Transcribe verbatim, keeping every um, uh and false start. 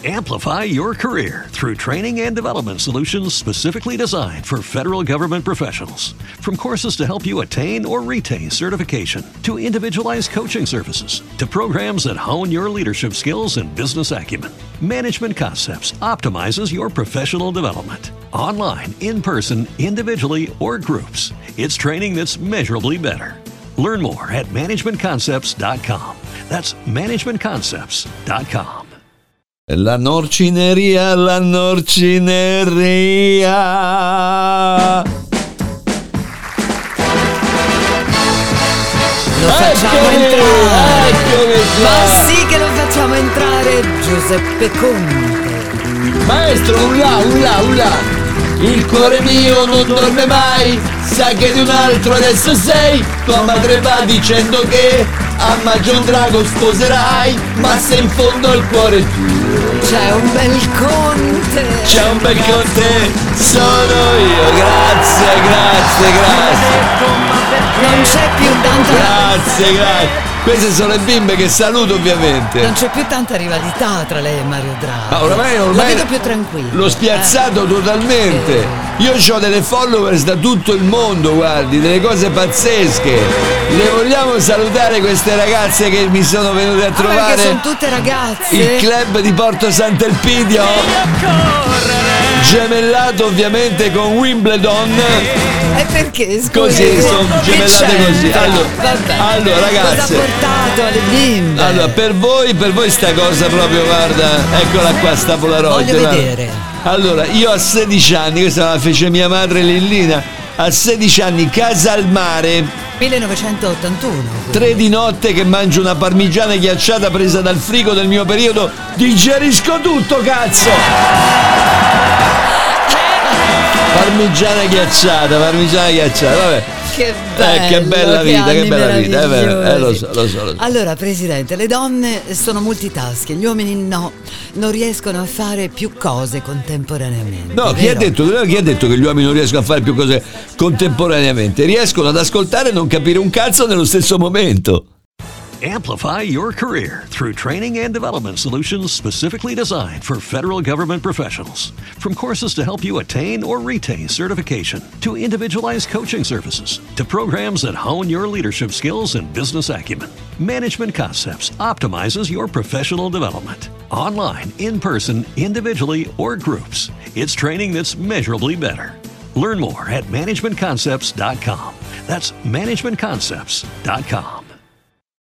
Amplify your career through training and development solutions specifically designed for federal government professionals. From courses to help you attain or retain certification, to individualized coaching services, to programs that hone your leadership skills and business acumen, Management Concepts optimizes your professional development. Online, in person, individually, or groups, it's training that's measurably better. Learn more at management concepts dot com. That's management concepts dot com. La norcineria, la norcineria. Lo facciamo Eccomi, entrare. eccomi qua. Ma sì che lo facciamo entrare, Giuseppe Conte. Maestro, ulla, ulla, ulla. Il cuore mio non dorme mai, sa che di un altro adesso sei. Tua madre va dicendo che a Magion Drago sposerai, ma se in fondo il cuore è tuo. C'è un bel Conte. C'è un bel Conte, sono io. Grazie, grazie, grazie. Non c'è più tanta Grazie, grazie. Queste sono le bimbe che saluto ovviamente. Non c'è più tanta rivalità tra lei e Mario Draghi. Ma oramai, ormai Lo vedo più tranquillo. L'ho spiazzato eh. totalmente. Io ho delle followers da tutto il mondo, guardi, delle cose pazzesche. Le vogliamo salutare queste ragazze che mi sono venute a Ah, trovare? perché sono tutte ragazze. Il club di Porto Sant'Elpidio, gemellato ovviamente con Wimbledon. E perché? Scusi, Così, sono che gemellate così. c'entra? Allora, Vabbè. allora, ragazze. Cosa ha portato alle bimbe? Allora, per voi, per voi sta cosa proprio, guarda, eccola qua, sta Polaroid. Voglio guarda. vedere. Allora, io a sedici anni, questa la fece mia madre Lillina, a sedici anni, casa al mare, millenovecentottantuno. quindi. tre di notte che mangio una parmigiana ghiacciata presa dal frigo del mio periodo, digerisco tutto, cazzo! Parmigiana ghiacciata, parmigiana ghiacciata, vabbè. Che bello, Eh, che bella vita, che anni bella vita, è vero, eh, lo meravigliosi. so, lo so, lo so. Allora, Presidente, le donne sono multitasking, gli uomini no, non riescono a fare più cose contemporaneamente. No, chi ha, vero? detto, chi ha detto che gli uomini non riescono a fare più cose contemporaneamente? Riescono ad ascoltare e non capire un cazzo nello stesso momento. Amplify your career through training and development solutions specifically designed for federal government professionals. From courses to help you attain or retain certification, to individualized coaching services, to programs that hone your leadership skills and business acumen, Management Concepts optimizes your professional development. Online, in person, individually, or groups, it's training that's measurably better. Learn more at management concepts dot com. That's management concepts dot com.